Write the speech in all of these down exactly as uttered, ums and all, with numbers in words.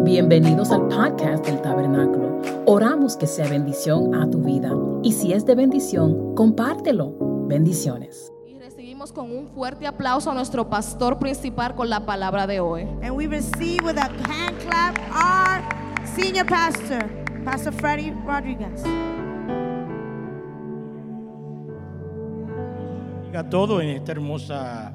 Bienvenidos al podcast del Tabernáculo. Oramos que sea bendición a tu vida. Y si es de bendición, compártelo. Bendiciones. Y recibimos con un fuerte aplauso a nuestro pastor principal con la palabra de hoy. And we receive with a hand clap our senior pastor, Pastor Freddie Rodriguez. A todo en esta hermosa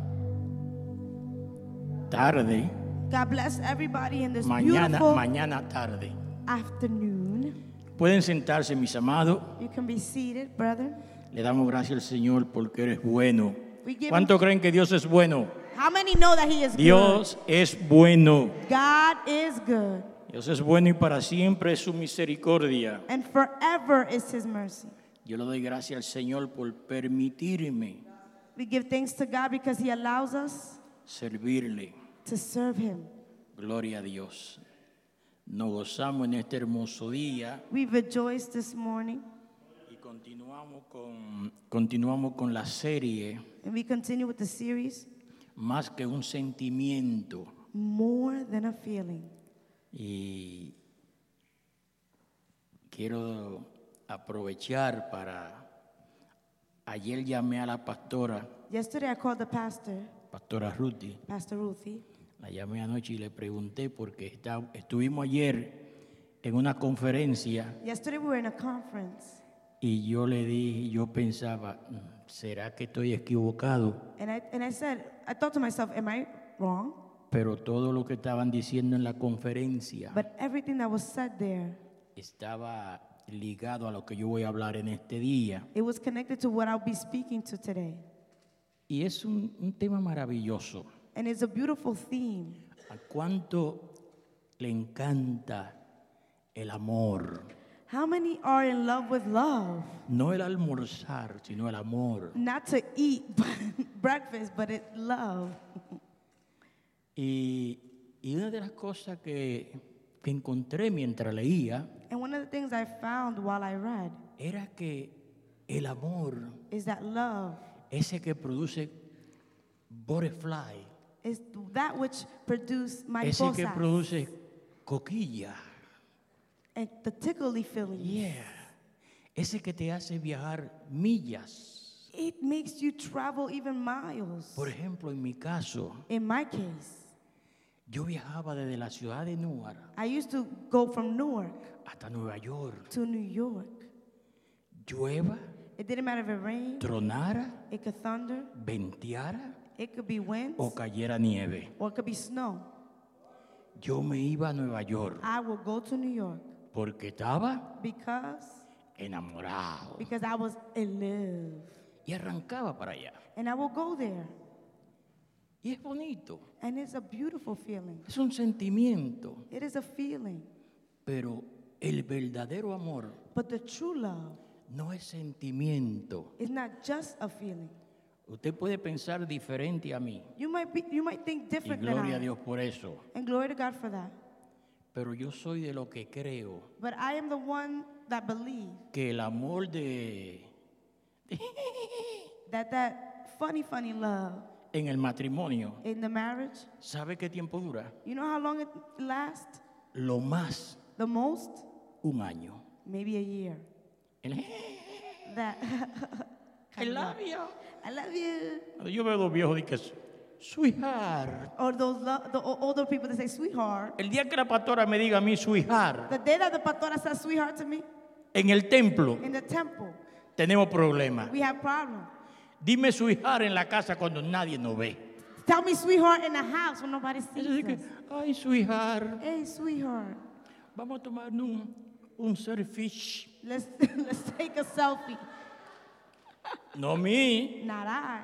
tarde, God bless everybody in this mañana, beautiful mañana tarde. afternoon. Pueden sentarse, mis amados. You can be seated, brother. Le damos gracias al Señor porque eres bueno. We give ¿Cuántos creen que Dios es bueno? How many know that he is Dios es bueno. good? God is good, Dios es bueno y para siempre es su misericordia. and forever is his mercy. Yo le doy gracias al Señor por permitirme We give thanks to God because he allows us servirle. to serve him. Gloria a Dios. Nos gozamos en este hermoso día We rejoice this morning, y continuamos con, continuamos con la serie and we continue with the series, Más que un sentimiento. More Than a Feeling. Y quiero aprovechar para... Ayer llamé a la pastora, Yesterday I called the pastor, pastora Ruthie. Pastor Ruthie. La llamé anoche y le pregunté porque está- estuvimos ayer en una conferencia Yesterday we were in a conference, y yo le dije, yo pensaba, "Mm, ¿será que estoy equivocado?" and I and I said, I thought to myself, am I wrong? Pero todo lo que estaban diciendo en la conferencia But everything that was said there, estaba ligado a lo que yo voy a hablar en este día. it was connected to what I'll be speaking to today. Y es un, un tema maravilloso. And it's a beautiful theme. ¿A cuánto le encanta el amor? How many are in love with love? No el almorzar, sino el amor. Not to eat breakfast, but it love. Y, y una de las cosas que, que encontré mientras leía And one of the things I found while I read era que el amor, is that love ese que produce butterfly, is that which produced ese que mariposas produce coquilla, and the tickly feeling. yeah, ese que te hace viajar millas. It makes you travel even miles. Por ejemplo, en mi caso, In my case, yo viajaba desde la ciudad de Newark I used to go from Newark hasta Nueva York. to New York. Llueva, It didn't matter if it rained, tronara, it could thunder, venteara it could be winds, o cayera nieve. or it could be snow. Yo me iba a Nueva York I will go to New York porque estaba because enamorado because I was in love. y arrancaba para allá. And I will go there. Y es bonito, And it's a beautiful feeling. es un sentimiento, It is a feeling. pero el verdadero amor But the true love no es sentimiento. is not just a feeling. Usted puede pensar diferente a mí You might be you might think y different than gloria a I. Dios por eso, And glory to God for that. pero yo soy de lo que creo But I am the one that believe que el amor de that that funny, funny love en el matrimonio, in the marriage, ¿sabe qué tiempo dura? you know how long it lasts? Lo más The most? un año. Maybe a year. El- That I love you. I love you. Yo veo dos viejos y que sweetheart. Or those lo- the o- older people that say sweetheart. El día que la pastora me diga a mí sweetheart The day that the pastora says sweetheart to me en el templo, in the temple, tenemos problemas. we have problems. Dime sweetheart en la casa cuando nadie nos ve. Tell me sweetheart in the house when nobody Es sees decir que, us. ay sweetheart, Hey, sweetheart, vamos a tomar un, un selfie. let's let's take a selfie. No me. Not I.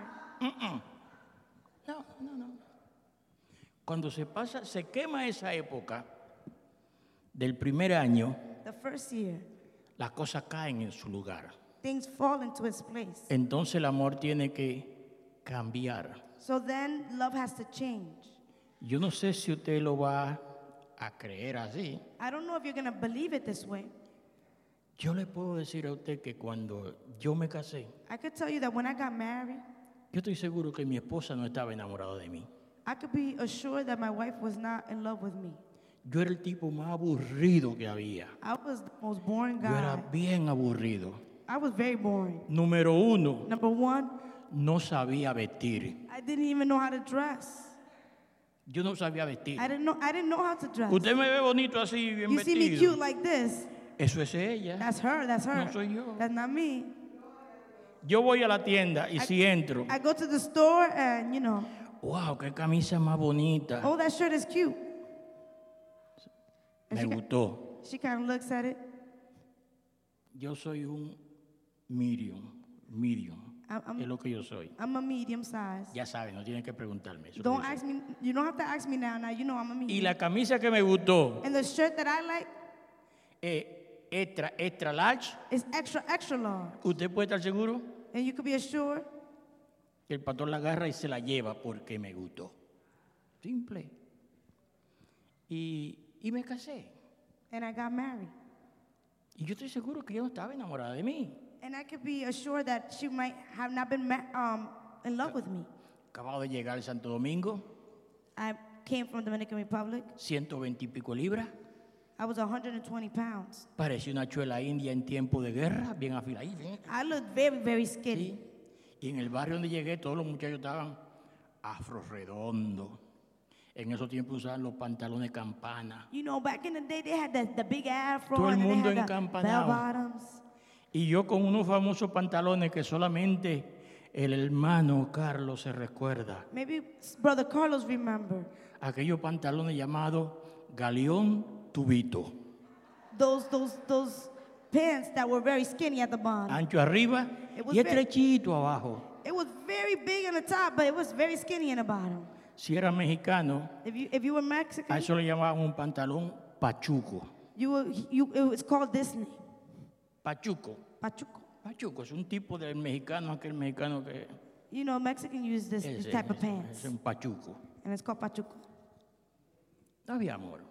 No, no, no. Cuando se pasa, se quema esa época del primer año, The first year, las cosas caen en su lugar. things fall into its place. Entonces el amor tiene que cambiar. So then love has to change. Yo no sé si usted lo va a creer así. I don't know if you're going to believe it this way. Yo le puedo decir a usted que cuando yo me casé, I could tell you that when I got married, yo estoy seguro que mi esposa no estaba enamorada de mí. I could be assured that my wife was not in love with me. Yo era el tipo más aburrido que había. I was the most boring Yo era guy. bien aburrido. I was very boring. Número uno, Number one, no sabía vestir. I didn't even know how to dress. Yo no sabía vestir. I didn't know. I didn't know how to dress. Usted me ve bonito así, bien You see me vestido. cute like this. Eso es ella. That's her. That's her. No soy yo. That's not me. Yo voy a la tienda y si entro, I go to the store and you know, wow, qué camisa más bonita. oh, that shirt is cute. And Me she, ki- gustó. she kind of looks at it. Yo soy un medium, medium. I'm, I'm, Es lo que yo soy. I'm a medium size. Ya saben, no tienen que preguntarme eso. Don't que yo ask soy. me. You don't have to ask me now. Now you know I'm a Y medium. la camisa que me gustó, And the shirt that I like eh, extra, extra large. is extra, extra large. Usted puede estar seguro And you could be assured que el pastor la agarra y se la lleva porque me gustó. Simple. Y, y me casé. and I got married. Y yo estoy seguro que ella no estaba enamorada de mí. And I could be assured that she might have not been ma- um, in love with me. Acabado de llegar a Santo Domingo, I came from Dominican Republic. ciento veinte y pico libras. I was one hundred twenty pounds. Parecía una chuela india en tiempo de guerra, bien afiladita. bien- I looked very, very skinny. Sí. Y en el barrio donde llegué, todos los muchachos estaban afro redondo. En esos tiempos usaban los pantalones campana. You know, back in the day, they had the, the big afro Todo el and then mundo they had the encampanado. bell bottoms. Y yo con unos famosos pantalones que solamente el hermano Carlos se recuerda. Maybe Brother Carlos remember Aquellos pantalones llamados galeón tubito. those those those pants that were very skinny at the bottom. Ancho arriba It was y ve- estrechito abajo. It was very big on the top, but it was very skinny in the bottom. Si era mexicano, If you if you were a Mexican, eso le llamaban un pantalón pachuco. you were you it was called this name, Pachuco. pachuco. Pachuco es un tipo del mexicano, aquel mexicano que You know, Mexican use this, this ese- type of ese- pants, es un pachuco. and it's called pachuco. No había amor.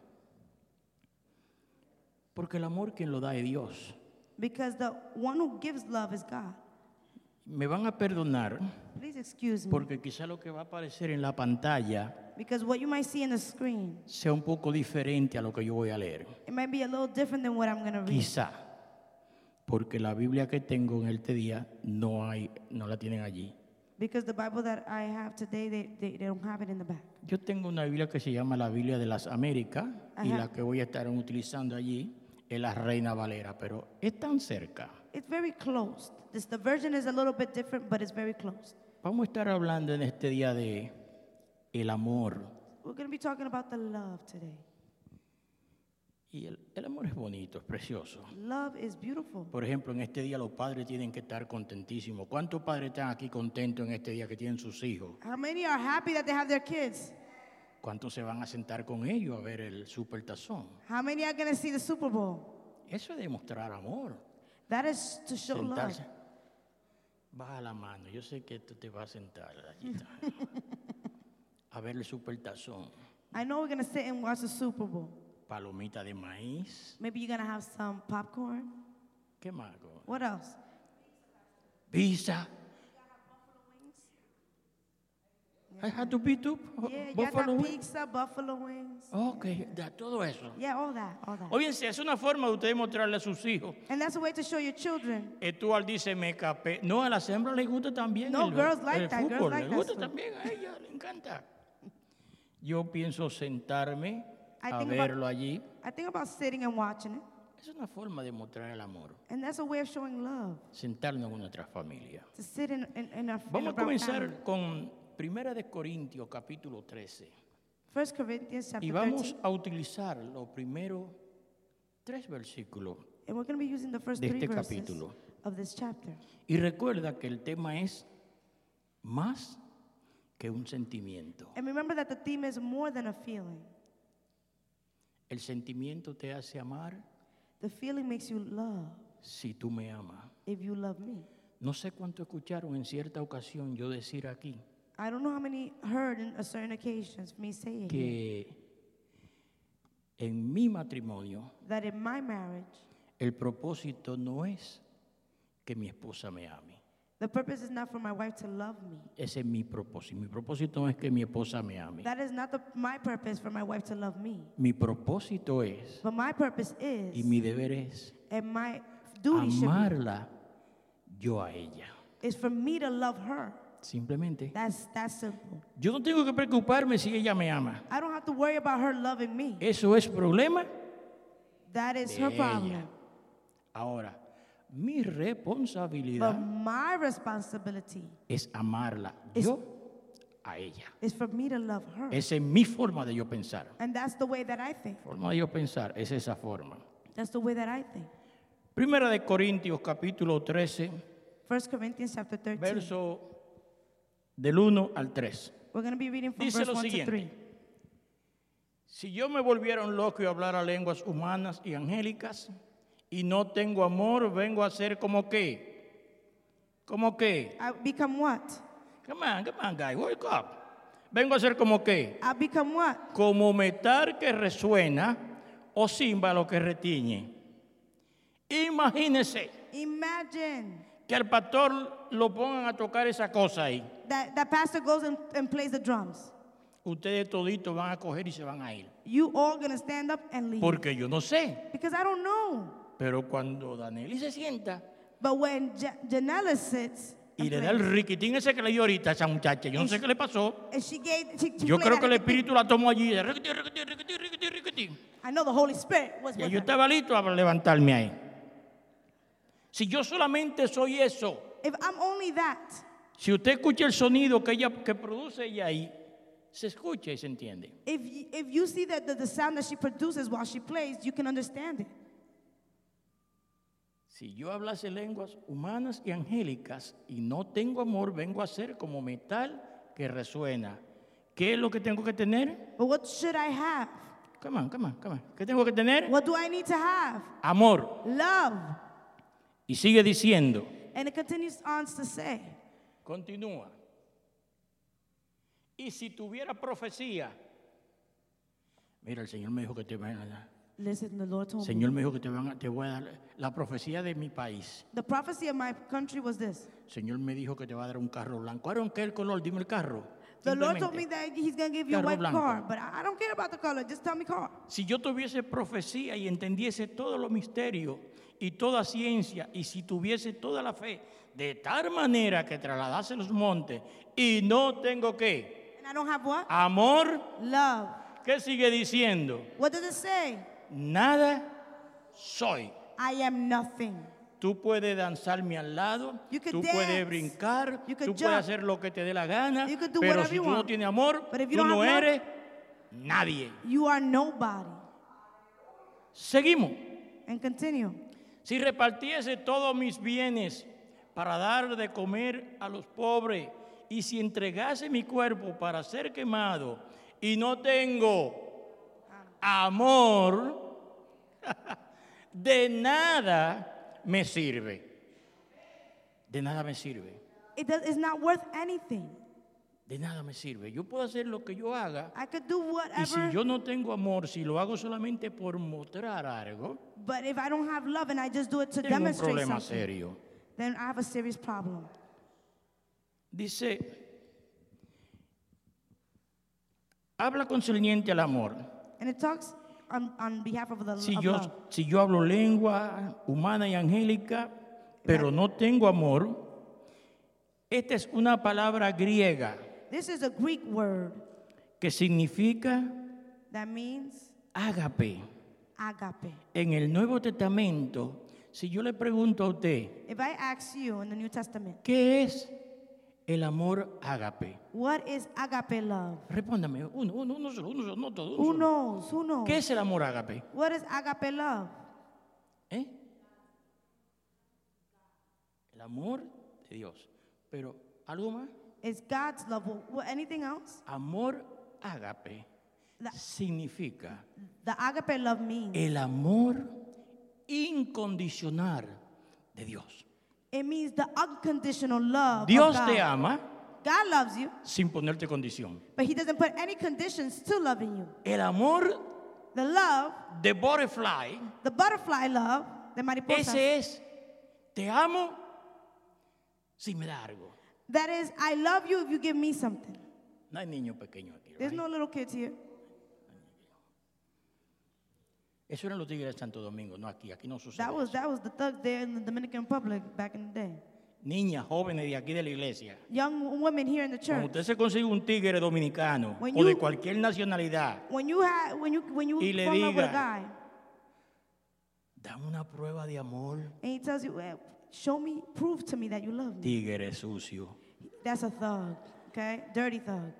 Porque el amor quien lo da es Dios. Because the one who gives love is God. Me van a perdonar Please excuse me. porque quizá lo que va a aparecer en la pantalla Because what you might see in the screen, sea un poco diferente a lo que yo voy a leer. it might be a little different than what I'm going to read. Quizá. Porque la Biblia que tengo en este día no hay, no la tienen allí. Because the Bible that I have today, they, they, they don't have it in the back. Yo tengo una Biblia que se llama la Biblia de las Américas y Ajá. la que voy a estar utilizando allí es la Reina Valera, pero es tan cerca. It's very close. This, the version is a little bit different, but it's very close. Vamos a estar hablando en este día de el amor. We're going to be talking about the love today. Y el, el amor es bonito, es precioso. Love is beautiful. Por ejemplo, en este día los padres tienen que estar contentísimos. ¿Cuántos padres están aquí contentos en este día que tienen sus hijos? How many are happy that they have their kids? ¿Cuántos se van a sentar con ellos a ver el supertazón? How many are going to see the Super Bowl? Eso es demostrar amor. That is to show love. Sentarse. Baja la mano, yo sé que tú te vas a sentar allí, a ver el supertazón. I know we're going to sit and watch the Super Bowl. Palomita de maíz. Maybe you're going to have some popcorn. ¿Qué más? What else? Pizza. I had to beat up Yeah, you buffalo got wings. pizza, buffalo wings. Ok, da todo eso. Yeah, all that, all that. Óyense, es una forma de ustedes mostrarle a sus hijos. And that's a way to show your children. Estual dice, me capé. No, a las hembras les gusta también No, el, girls like el that, girls fútbol. like les that gusta stuff. también a ella, le encanta. Yo pienso sentarme I a think verlo about- allí. I think about sitting and watching it. Es una forma de mostrar el amor. And that's a way of showing love. Sentarnos con nuestra familia. To sit in, in, in a, in Vamos a a brown comenzar family. con Primera de Corintios, capítulo trece. First Corinthians chapter Y vamos thirteen. a utilizar los primeros tres versículos. And we're going to be using the first de three este verses capítulo. of this chapter. Y recuerda que el tema es más que un sentimiento. And remember that the theme is more than a feeling. El sentimiento te hace amar The feeling makes you love si tú me amas. if you love me. No sé cuánto escucharon en cierta ocasión yo decir aquí I don't know how many heard in a certain occasions me say it here, que en mi matrimonio that in my marriage, el propósito no es que mi esposa me ame. The purpose is not for my wife to love me. Ese es mi propósito. Mi propósito no es que mi esposa me ame. That is not the, my purpose for my wife to love me. Mi propósito es, But my purpose y is, mi deber es, and my duty should amarla yo a ella. be, is for me to love her. Simplemente. That's that's simple. Yo no tengo que preocuparme si ella me ama. I don't have to worry about her loving me. Eso es problema That is de her ella. problem. Ahora, mi But responsabilidad my responsibility es amarla Es- yo a ella. is for me to love her. Esa es mi forma de yo pensar. And that's the way that I think. Forma de yo pensar es esa forma. That's the way that I think. Primera de Corintios capítulo trece, First Corinthians chapter thirteen. verso del uno al tres. We're going to be reading from Dice verse lo one to siguiente. three. Si yo me volviera un loco y hablara lenguas humanas y angélicas y no tengo amor, vengo a ser como qué? ¿Como qué? I become what? Come on, come on, guy, wake up. Vengo a ser como qué? I become what? Como metal que resuena o címbalo que retiñe. Imagínese Imagine que al pastor lo pongan a tocar esa cosa ahí. that that pastor goes and, and plays the drums. Ustedes toditos van a coger y se van a ir. You all going to stand up and leave. Porque yo no sé. Because I don't know. Pero cuando Danelli se sienta But when Ja- Janella sits y and le da el plays, riquitín ese que le dio ahorita a esa muchacha, yo no sé qué le pasó. and she gave, she, she Yo played creo que el that- espíritu la tomó allí. riquitín, riquitín, riquitín, riquitín, riquitín. I know the Holy Spirit was Y with yo her. estaba listo a levantarme ahí. Si yo solamente soy eso, If I'm only that, si usted escucha el sonido que ella que produce ella ahí, se escucha y se entiende. if y- if you see that the, the sound that she produces while she plays, you can understand it. Si yo hablase lenguas humanas y angélicas y no tengo amor, vengo a ser como metal que resuena. ¿Qué es lo que tengo que tener? But what should I have? Come on, come on, come on. ¿Qué tengo que tener? What do I need to have? Amor. Love. Y sigue diciendo, And it continues on to say, continúa. Y si tuviera profecía, mira, el Señor me dijo que te van a dar. listen, the Lord told me. Señor me dijo que te, van a, te voy a dar la profecía de mi país. The prophecy of my country was this. Señor me dijo que te va a dar un carro blanco. ¿Cuál es el color? Dime el carro. The Lord told Simplemente. me that He's going to give you a Carro white blanco. car, but I I don't care about the color. Just tell me car. Si yo tuviese profecía y entendiese todos los misterios y toda ciencia, y si tuviese toda la fe, de tal manera que trasladase los montes, y no tengo qué, And I don't have what? amor, Love. ¿qué sigue diciendo? What does it say? Nada soy. I am nothing. Tú puedes danzarme al lado, You could tú dance, puedes brincar, you could tú jump, puedes hacer lo que te dé la gana, you could do pero whatever si you tú no want. tienes amor, But if you tú don't no have love, eres nadie. You are nobody. Seguimos. And continue. Si repartiese todos mis bienes para dar de comer a los pobres, y si entregase mi cuerpo para ser quemado, y no tengo amor, de nada me sirve. De nada me sirve. It does, it's not worth anything. De nada me sirve. Yo puedo hacer lo que yo haga, I could do y si whatever, yo no tengo amor, si lo hago solamente por mostrar algo, but if I don't have love and I just do it to tengo un demonstrate problema something, serio. then I have a serious problem. Dice, habla concerniente al amor. And it talks on, on behalf of the Si of yo, love. si yo hablo lengua humana y angélica, pero no tengo amor, esta es una palabra griega This is a Greek word que significa that means ágape. agape. En el Nuevo Testamento, si yo le pregunto a usted, If I ask you in the New Testament, ¿qué es el amor ágape? what is agape love? Respóndame, uno, uno, uno solo, uno solo, no todo. uno Who solo. knows? Who knows? ¿Qué es el amor ágape? What is agape love? ¿Eh? El amor de Dios. Pero, ¿algo más? It's God's love. Wh- wh- Anything else? Amor ágape La- significa The agape love means el amor incondicional de Dios. it means the unconditional love Dios of God. te ama God loves you, sin ponerte condición. but He doesn't put any conditions to loving you. El amor The love, de butterfly, the butterfly love, the mariposa, ese es, te amo si me da algo. That is, I love you if you give me something. No hay niños pequeños aquí. There's right? no little kids here. Eso eran los tigres de Santo Domingo, no aquí. Aquí no sucede That was eso. that was the thugs there in the Dominican Republic back in the day. Niñas, jóvenes de aquí de la iglesia. Young women here in the Cuando church. usted se consigue un tigre dominicano When o de you- cualquier nacionalidad, When you have when you when you Y le fall in love with a diga, guy dan una prueba de amor. and he tells you, well, show me, prove to me that you love me. Tigre sucio. That's a thug, okay? Dirty thug.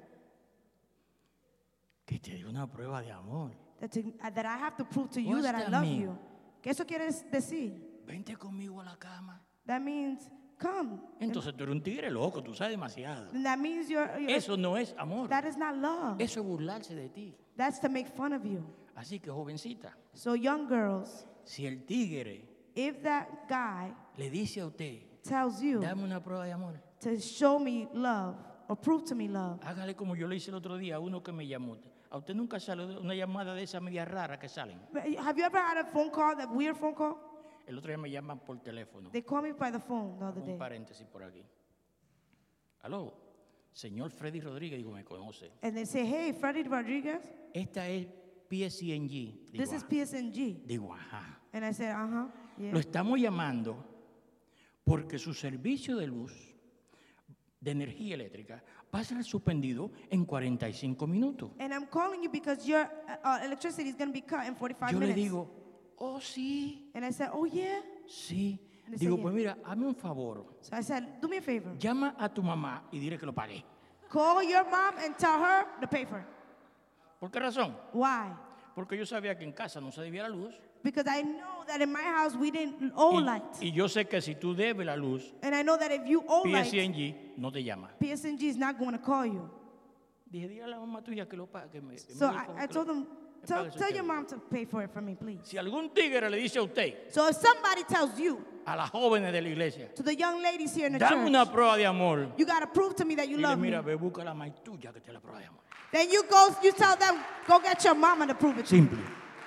Que te dé una prueba de amor. That, to, uh, that I have to prove to you What's that I that love mean? you. ¿Qué eso quiere decir? Vente conmigo a la cama. That means come. Entonces tú eres un tigre loco, tú sabes demasiado. And that means you're, you're Eso no es amor. that is not love. Eso es burlarse de ti. That's to make fun of you. Así que, jovencita, So young girls, si el tigre if that guy le dice a usted, tells you dame una prueba de amor, to show me love or prove to me love, hágale como yo le hice el otro día a uno que me llamó. A usted nunca sale una llamada de esas medias raras que salen. have you ever had a phone call, that weird phone call? El otro día me llaman por teléfono. They called me by the phone the other Un day. paréntesis por aquí. Aló, señor Freddy Rodríguez, digo, me conoce. And they say, hey, Freddie Rodriguez, Esta es P S N G. Digo, this is P S N G. digo, ajá. And I said, uh-huh, yeah. Lo estamos llamando porque su servicio de luz, de energía eléctrica, va a ser suspendido en cuarenta y cinco minutos. And I'm calling you because your uh, uh, electricity is going to be cut in forty-five Yo le minutes. digo, oh sí, And I said, oh, yeah? sí. And they Digo, say, pues mira, hazme un favor. So I said, do me a favor. Llama a tu mamá y dile que lo pague. Call your mom and tell her to pay for it. ¿Por qué razón? Why? Porque yo sabía que en casa no se debía la luz. Because I know that in my house we didn't owe Y, light. y yo sé que si tú debes la luz, And I know that if you owe light, P S N G no te llama. P S N G is not going to call you. Dije, dile a la mamá tuya que lo pague. Que me, que So me I, diga I que told lo- them, me tell, pague su tell your deuda. mom to pay for it for me, please. Si algún tigre le dice a usted, So if somebody tells you, a las jóvenes de la iglesia, to the young ladies here in the dame church, una prueba de amor, you got to prove to me that you dile, love me. mira, ve, busca la maíz tuya que te la prueba de amor. Then you go, you tell them, go get your mama to prove it to you. Simple.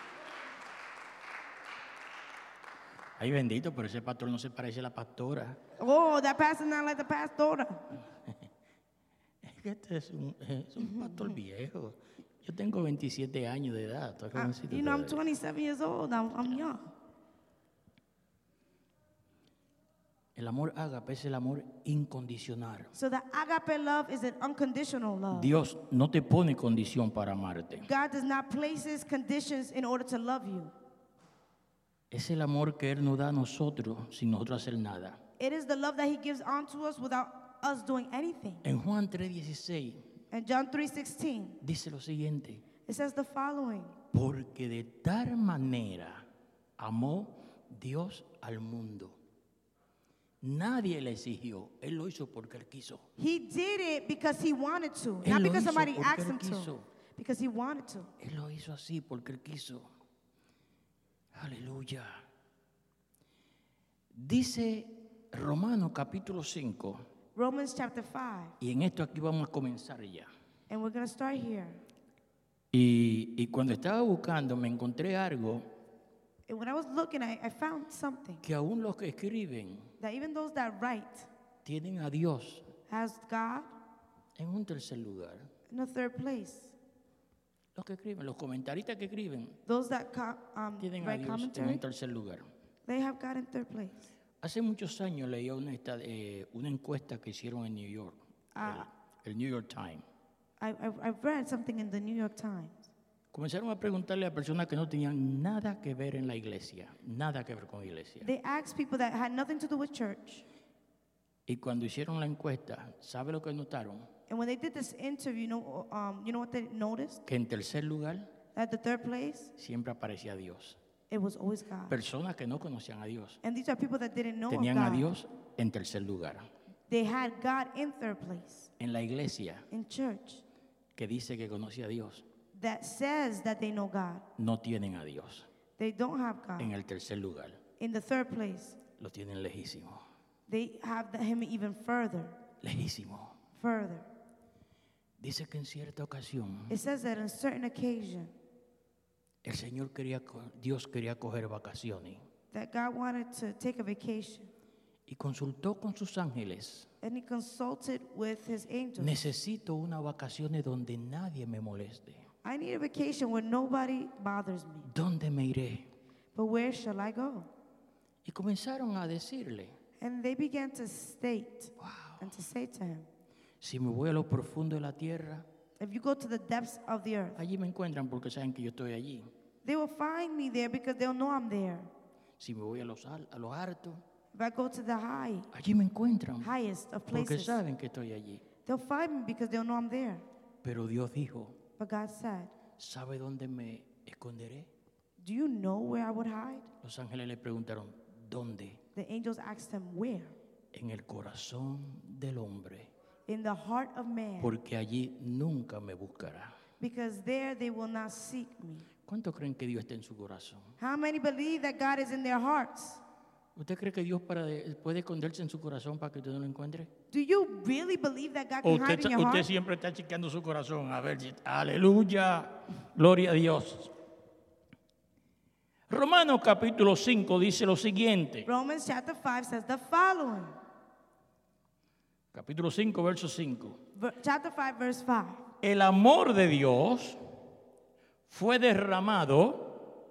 Ay, bendito, pero ese pastor no se parece a la pastora. Oh, that pastor's not like the pastora. Es que este es un, es un pastor viejo. Yo tengo veintisiete años de edad. Estoy Uh, jovencito you know, I'm todavía. twenty-seven years old. I'm, I'm young. El amor ágape es el amor incondicional. So the agape love is an unconditional love. Dios no te pone condición para amarte. God does not place his conditions in order to love you. Es el amor que Él nos da a nosotros sin nosotros hacer nada. It is the love that he gives onto us without us doing anything. En Juan tres dieciséis And John three sixteen, dice lo siguiente. it says the following. Porque de tal manera amó Dios al mundo. Nadie le exigió. Él lo hizo porque Él quiso. He did it because he wanted to, Él not lo because hizo somebody porque asked él him to, quiso. because he wanted to. Él lo hizo así porque Él quiso. Aleluya. Dice Romanos capítulo cinco. Romans chapter five, Y en esto aquí vamos a comenzar ya. and we're going to start here. Y, y cuando estaba buscando me encontré algo And when I was looking, I, I found something que aún los que escriben that even those that write tienen a Dios has God en un tercer lugar. in the third place. Los que escriben, los comentaristas que escriben, Those that co- um, tienen a write Dios en commentary, un tercer lugar. they have God in third place. Hace muchos años leí una, esta- eh, una encuesta que hicieron en New York, Ah. el, el New York Times. I, I, I've read something in the New York Times. Comenzaron a preguntarle a personas que no tenían nada que ver en la iglesia, nada que ver con la iglesia. They asked people that had nothing to do with church. Y cuando hicieron la encuesta, ¿sabe lo que notaron? And when they did this interview, you know, um, you know what they noticed? Que en tercer lugar At the third place, siempre aparecía Dios. it was always God. Personas que no conocían a Dios And these are people that didn't know of tenían a God. Dios en tercer lugar. They had God in third place. En la iglesia In church, que dice que conoce a Dios, that says that they know God. no tienen a Dios. They don't have God. En el tercer lugar In the third place, lo tienen lejísimo, they have the, him even further, lejísimo. further. Dice que en cierta ocasión It says that on a certain occasion, el Señor quería, co- Dios quería coger vacaciones that God wanted to take a vacation. y consultó con sus ángeles. And he consulted with his angels. Necesito unas vacaciones donde nadie me moleste. I need a vacation where nobody bothers me. ¿Dónde me iré? But where shall I go? Y comenzaron a decirle, And they began to state wow, and to say to him, si me voy a lo profundo de la tierra, if you go to the depths of the earth, allí me encuentran porque saben que yo estoy allí. they will find me there because they'll know I'm there. Si me voy a los, al- a los altos, If I go to the high, allí me encuentran highest of porque places, saben que estoy allí. they'll find me because they'll know I'm there. Pero Dios dijo, But God said, ¿sabe dónde me esconderé? do you know where I would hide? Los ángeles le preguntaron, ¿dónde? The angels asked him, where? En el corazón del hombre, In the heart of man, porque allí nunca me buscará. because there they will not seek me. ¿Cuántos creen que Dios está en su corazón? How many believe that God is in their hearts? ¿Usted cree que Dios para de- puede esconderse en su corazón para que usted no lo encuentre? Do you really believe that God ¿O can usted, hide in your usted heart? siempre está chequeando su corazón? A ver, si- aleluya, gloria a Dios. Romanos capítulo cinco dice lo siguiente. Romans chapter five says the following. Capítulo cinco, verso cinco. Ver- chapter five, verse five. El amor de Dios fue derramado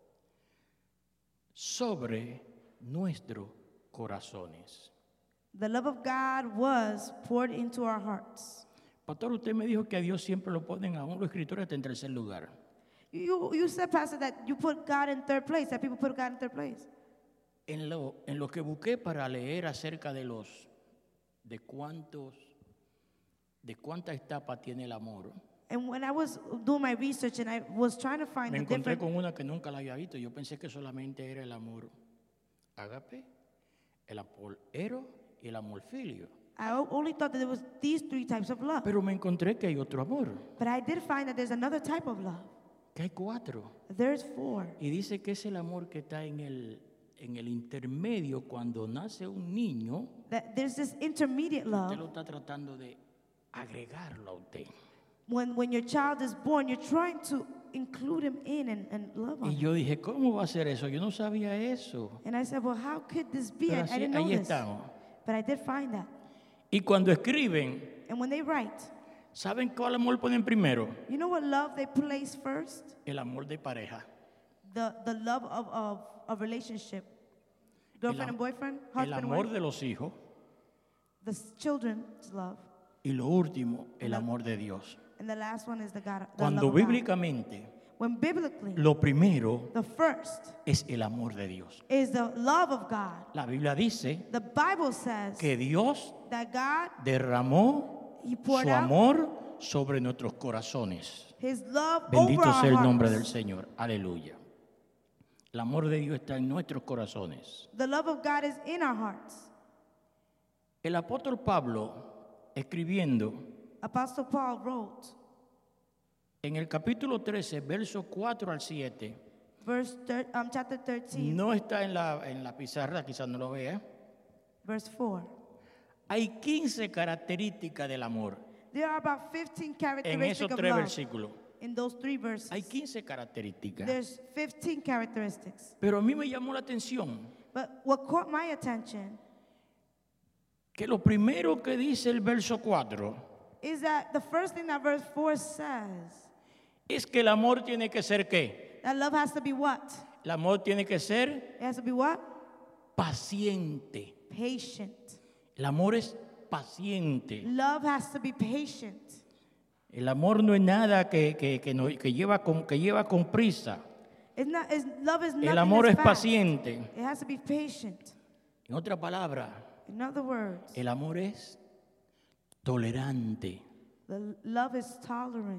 sobre nuestros corazones. The love of God was poured into our hearts. Pastor, usted me dijo que a Dios siempre lo ponen a uno los escritores en tercer lugar. You, you said, Pastor, that you put God in third place, that people put God in third place. En lo, en lo que busqué para leer acerca de los, de cuántos, de cuánta etapa tiene el amor, And when I was doing my research and I was trying to find me the encontré different, con una que nunca la había visto. Yo pensé que solamente era el amor ágape, el amor ero y el amor filio. I o- only thought that there was these three types of love. Pero me encontré que hay otro amor, But I did find that there's another type of love. que hay cuatro. There's four. Y dice que es el amor que está en el, en el intermedio cuando nace un niño. That there's this intermediate Usted love. lo está tratando de agregarlo a usted. When, when your child is born, you're trying to include him in and, and love on Y him. yo dije, ¿cómo va a ser eso? Yo no sabía eso. And I said, well, how could this be? I, Pero I así- didn't know ahí this. estamos. But I did find that. Y cuando escriben, And when they write, ¿saben cuál amor ponen primero? you know what love they place first? El amor de pareja. The, the love of, of a relationship. Girlfriend am- and boyfriend, El husband and amor wife. de los hijos. The s- children's love. Y lo último, el La- amor de Dios. And the last one is the God. The Cuando love of God. bíblicamente, When biblically, lo primero the first es el amor de Dios. is the love of God. La Biblia dice The Bible says que Dios that God, derramó He poured su out amor sobre nuestros corazones. His love Bendito over our sea el nombre del hearts. Señor. Aleluya. El amor de Dios está en nuestros corazones. The love of God is in our hearts. El apóstol Pablo, escribiendo Apostle Paul wrote, en el capítulo trece, versos cuatro al siete, verse thir- um, chapter thirteen, no está en la, en la pizarra, quizás no lo vea. verse four. Hay quince características del amor There are about fifteen en characteristics esos of tres love versículos. in those three verses. Hay quince características. There's fifteen characteristics. Pero a mí me llamó la atención But what caught my attention que lo primero que dice el verso cuatro is that the first thing that verse four says, es que el amor tiene que ser ¿qué? that love has to be what? El amor tiene que ser It has to be what? paciente. Patient. El amor es paciente. Love has to be patient. El amor no es nada que, que, que, no- que lleva, con, que lleva con prisa. It's not, it's, love is nothing El amor that's es fast. paciente. It has to be patient. En otra palabra, In other words, el amor es tolerante. the l- love is tolerant.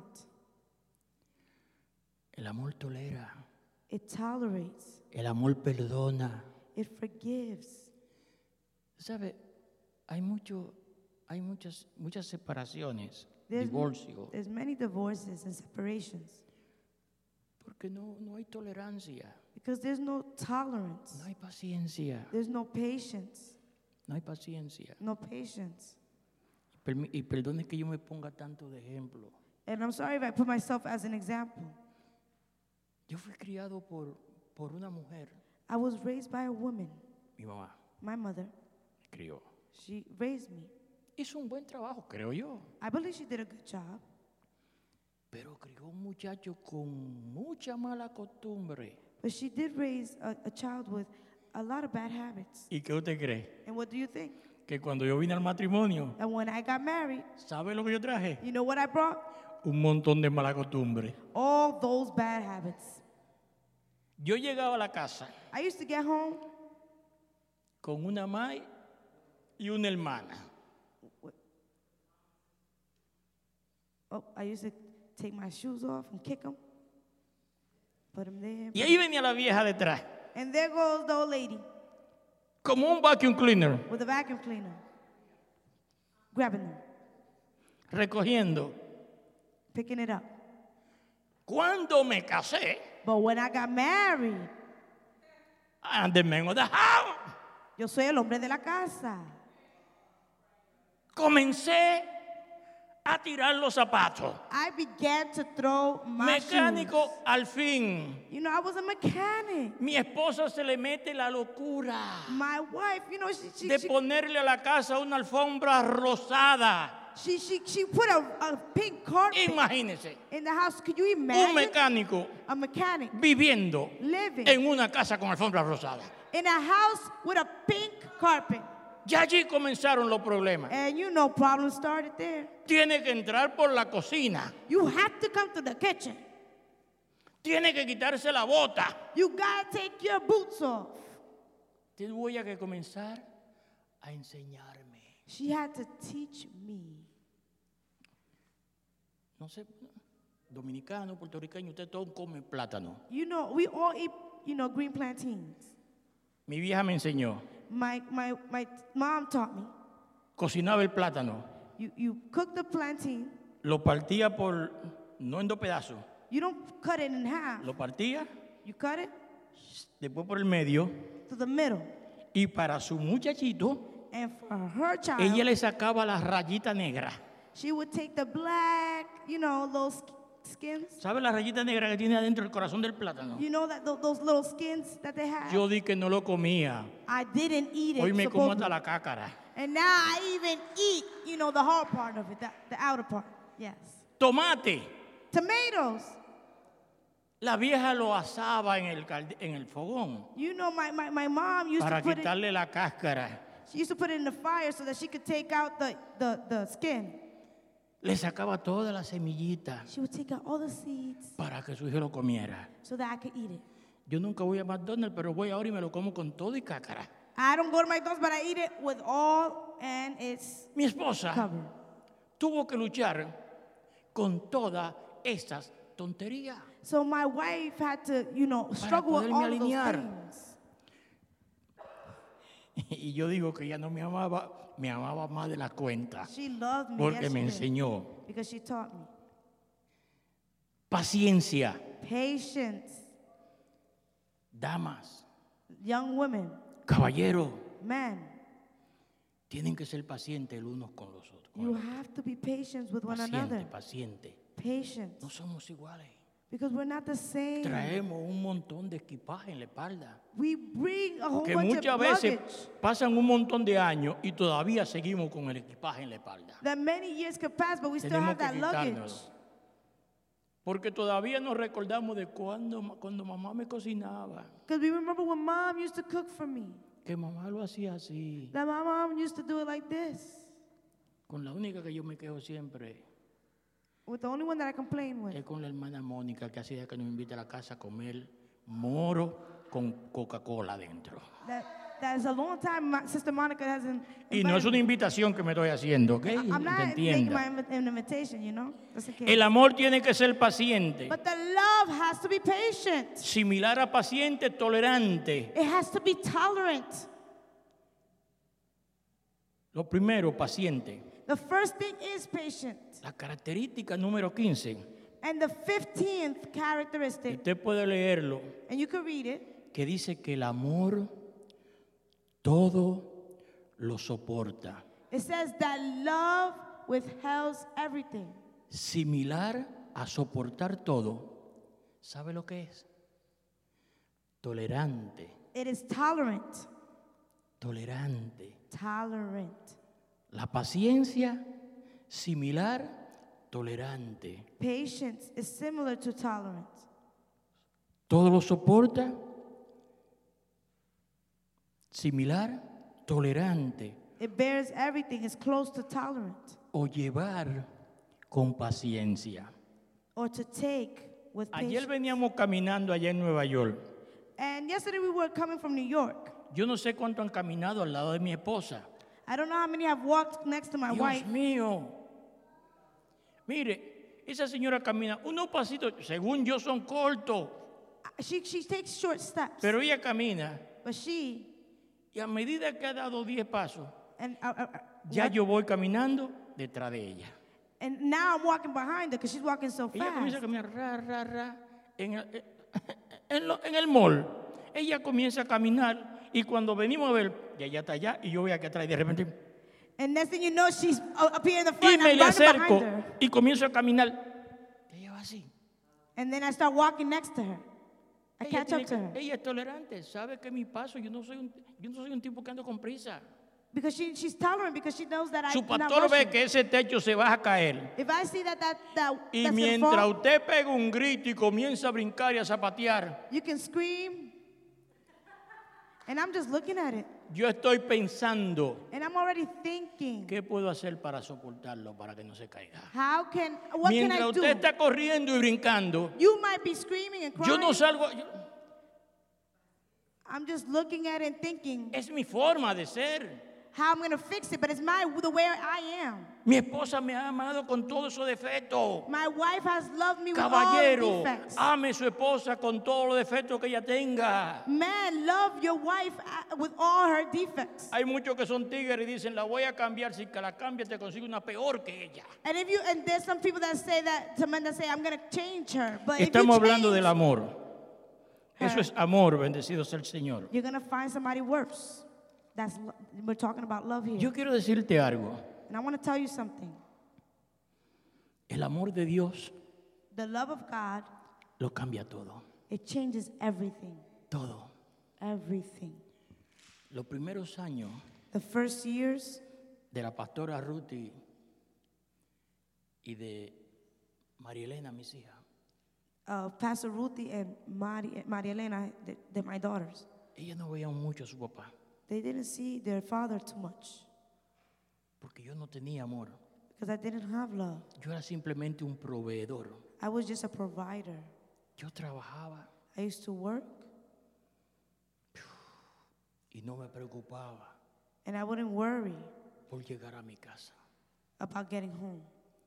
El amor tolera. It tolerates. El amor perdona. It forgives. ¿Sabe? Hay mucho, hay muchas, muchas separaciones, There's, divorcio, there's many divorces and separations porque no, no hay tolerancia, because there's no tolerance. no hay paciencia, There's no patience. no hay paciencia. No patience. Permi- Y perdone que yo me ponga tanto de ejemplo. And I'm sorry if I put myself as an example. Yo fui criado por, por una mujer, I was raised by a woman, mi mamá, my mother. crió. She raised me. Hizo un buen trabajo, creo yo. I believe she did a good job. Pero crió un muchacho con mucha mala costumbre. But she did raise a, a child with a lot of bad habits. ¿Y qué usted cree? And what do you think? Que cuando yo vine al matrimonio, And when I got married, ¿sabe lo que yo traje? you know what I brought? Un montón de mala costumbre. All those bad habits. Yo llegaba a la casa I used to get home. con una madre y una hermana. Oh, I used to take my shoes off and kick them. Put them there. Y ahí venía la vieja detrás, And there goes the old lady como un vacuum cleaner, with a vacuum cleaner. Grabbing them, recogiendo. picking it up. Cuando me casé, But when I got married, I'm the man of the house. yo soy el hombre de la casa. Comencé a tirar los zapatos. I began to throw my Mecánico shoes. al fin. You know, I was a mechanic. Mi esposa se le mete la locura My wife, you know, she she de she, ponerle a la casa una alfombra rosada. she, she, she put a, a pink carpet Imagínese, in the house. Could you un imagine mecánico a mechanic viviendo living en una casa con alfombra rosada. in a house with a pink carpet? Ya allí comenzaron los problemas. And you know, problems started there. Tiene que entrar por la cocina. You have to come to the kitchen. Tiene que quitarse la bota. You gotta take your boots off. Te voy a que comenzar a enseñarme. She had to teach me. No sé, dominicano, puertorriqueño, usted todo come plátano. You know, we all eat, you know, green plantains. Mi vieja me enseñó. My, my, my mom taught me. Cocinaba el plátano. You, you cook the plantain. Lo partía por, no en dos pedazos. You don't cut it in half. Lo partía, You cut it después por el medio. to the middle. Y para su muchachito, And for her child, ella le sacaba la rayita negra. she would take the black, you know, those skins. ¿Sabe la rayita negra que tiene adentro el corazón del plátano? You know that tho- those little skins that they have? Yo di que no lo comía. I didn't eat it. Hoy me como supposedly. hasta la cácara. And now I even eat, you know, the hard part of it, the, the outer part. Yes. Tomate. Tomatoes. La vieja lo asaba en el, calde- en el fogón You know, my, my, my mom used para to put it, quitarle la cáscara. she used to put it in the fire so that she could take out the, the, the skin. Le sacaba toda la semillita She would take out all the seeds para que su hijo lo comiera. so that I could eat it. Yo nunca voy a McDonald's, pero voy ahora y me lo como con todo y cácara. I don't go to McDonald's, but I eat it with all and it's Mi esposa covered. tuvo que luchar con todas estas tonterías. So my wife had to, you know, struggle with poderme all of those alinear. things. Y yo digo que ella no me amaba, me amaba más de la cuenta, She loved me, porque yes, me she did, enseñó because she taught me. paciencia. Patience. Damas, Young women, caballeros, men, tienen que ser pacientes el unos con los otros. you have to be patient with one Paciente, another. paciente. Patience. No somos iguales. Because we're not the same. Traemos un montón de equipaje en la espalda. We bring a whole Que bunch muchas of veces luggage pasan un montón de años y todavía seguimos con el equipaje en la espalda. that many years could pass, but we still Tenemos have que that luggage. quitárnoslo. Porque todavía nos recordamos de cuando, cuando mamá me cocinaba. Because we remember when mom used to cook for me. Que mamá lo hacía así. That my mom used to do it like this. Con la única que yo me quejo siempre With the only one that I complain with. es con la hermana Mónica, que hacía que nos invita a la casa a comer moro con Coca-Cola dentro. That, that is a long time my sister Monica hasn't. Y no es una invitación que me estoy haciendo, ¿ok? I'm Que not making entienda. my invi- an invitation, you know? Just in case. El amor tiene que ser paciente, But the love has to be patient. similar a paciente, tolerante. It has to be tolerant. Lo primero, paciente. The first thing is patient. La característica número quince, And the fifteenth characteristic, usted puede leerlo, and you can read it, que dice que el amor todo lo soporta. it says that love withholds everything. Similar a soportar todo, ¿sabe lo que es? Tolerante, It is tolerant. tolerante. tolerant. La paciencia, similar, tolerante. Patience is similar to tolerance. Todo lo soporta, similar, tolerante. It bears everything, is close to tolerant. O llevar con paciencia. Or to take with Ayer patience. veníamos caminando allá en Nueva York. And yesterday we were coming from New York. Yo no sé cuánto han caminado al lado de mi esposa. I don't know how many have walked next to my Dios wife. mío. Mire, esa señora camina unos pasitos, según yo son cortos, She, she takes short steps. pero ella camina But she, y a medida que ha dado diez pasos, and, uh, uh, uh, ya what- yo voy caminando detrás de ella. and now I'm walking behind her because she's walking so Ella comienza a fast. caminar ra, ra, ra, en el, en, lo- en el mall. Ella comienza a caminar y cuando venimos a ver, ya ella está allá y yo voy aquí atrás y de repente, And next thing you know, she's uh, up here in the y front. me I'm le running acerco behind her. y comienzo a caminar. Ella va así. And then I start walking next to her. I Ella, catch tiene up to que- her. ella es tolerante, sabe que mi paso, yo no soy un, yo no soy un tipo que ando con prisa. Because she, she's tolerant because she knows that Su I'm not pastor ve rushing. que ese techo se va a caer. If I see that, that, that Y that's gonna mientras fall, usted pega un grito y comienza a brincar y a zapatear, you can scream. And I'm just looking at it. yo estoy pensando, And I'm already thinking, ¿qué puedo hacer para soportarlo, para que no se caiga? how can, what can Mientras I usted do? está corriendo y brincando, You might be screaming and crying. yo no salgo. yo- I'm just looking at it and thinking es mi forma de ser. how I'm going to fix it, but it's my the way I am. Mi esposa me ha amado con todos esos defectos. My wife has loved me with all Caballero, the defects. ame su esposa con todos los defectos que ella tenga. Man, love your wife uh, with all her defects. Hay muchos que son tigres y dicen, la voy a cambiar, si que la cambie te consigo una peor que ella. And if you and there's some people that say that, some men that say I'm going to change her, but if you Estamos hablando change, del amor. Eso her, es amor, bendecido sea el Señor. you're going to find somebody worse. That's lo- we're talking about love here. Yo quiero decirte algo. And I want to tell you something. El amor de Dios The love of God, lo cambia todo. it changes everything. Todo. Everything. Los primeros años The first years de la pastora Ruthie y de María Elena, mis hijas, of Pastor Ruthie and Mari, Maria Elena, they're, they're my daughters. ellas no veían mucho a su papá, They didn't see their father too much porque yo no tenía amor. because I didn't have love. Yo era simplemente un proveedor. I was just a provider. Yo trabajaba I used to work y no me preocupaba and I wouldn't worry por llegar a mi casa. about getting home.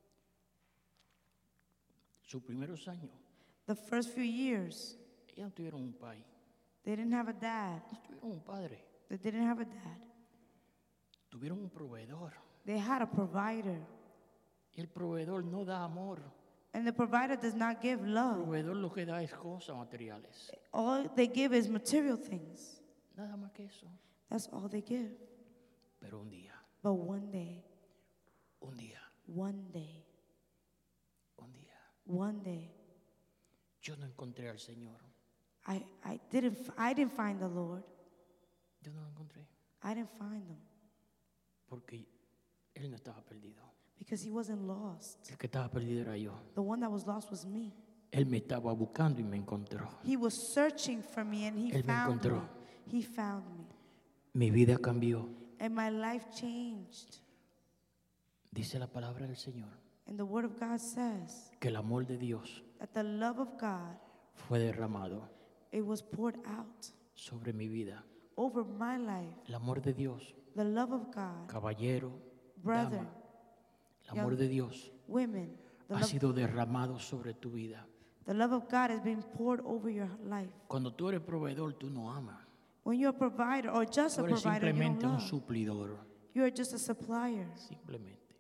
Sus primeros años, The first few years, ellas no tuvieron un pai, they didn't have a dad. no tuvieron un padre, They didn't have a dad. tuvieron un proveedor. They had a provider. Y el proveedor no da amor. And the provider does not give El love. proveedor lo que da es cosas materiales. All they give is material things. Nada más que eso. That's all they give. Pero un día, But one day, un día, one day, un día, one day, yo no encontré al Señor. I, I didn't f- I didn't find the Lord. Yo no lo encontré I didn't find him porque Él no estaba perdido. because he wasn't lost. El que estaba perdido era yo. The one that was lost was me. Él me estaba buscando y me encontró. He was searching for me and he Él me found me. encontró. He found me. Mi vida cambió. And my life changed. Dice la palabra del Señor And the word of God says que el amor de Dios that the love of God, fue derramado it was poured out sobre mi vida. over my life. El amor de Dios, The love of God, caballero, brother, dama, el amor young- de Dios women, the ha love, sido derramado sobre tu vida. the love of God has been poured over your life. Cuando tú eres proveedor, tú no amas. When you're a provider or just Tú a eres provider, you don't simplemente un love. suplidor. You're just a supplier. Simplemente.